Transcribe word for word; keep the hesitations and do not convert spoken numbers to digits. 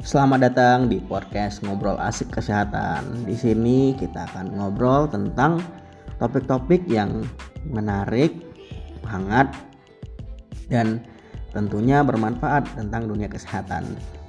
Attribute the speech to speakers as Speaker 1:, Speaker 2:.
Speaker 1: Selamat datang di podcast Ngobrol Asik Kesehatan. Di sini kita akan ngobrol tentang topik-topik yang menarik, hangat, dan tentunya bermanfaat tentang dunia kesehatan.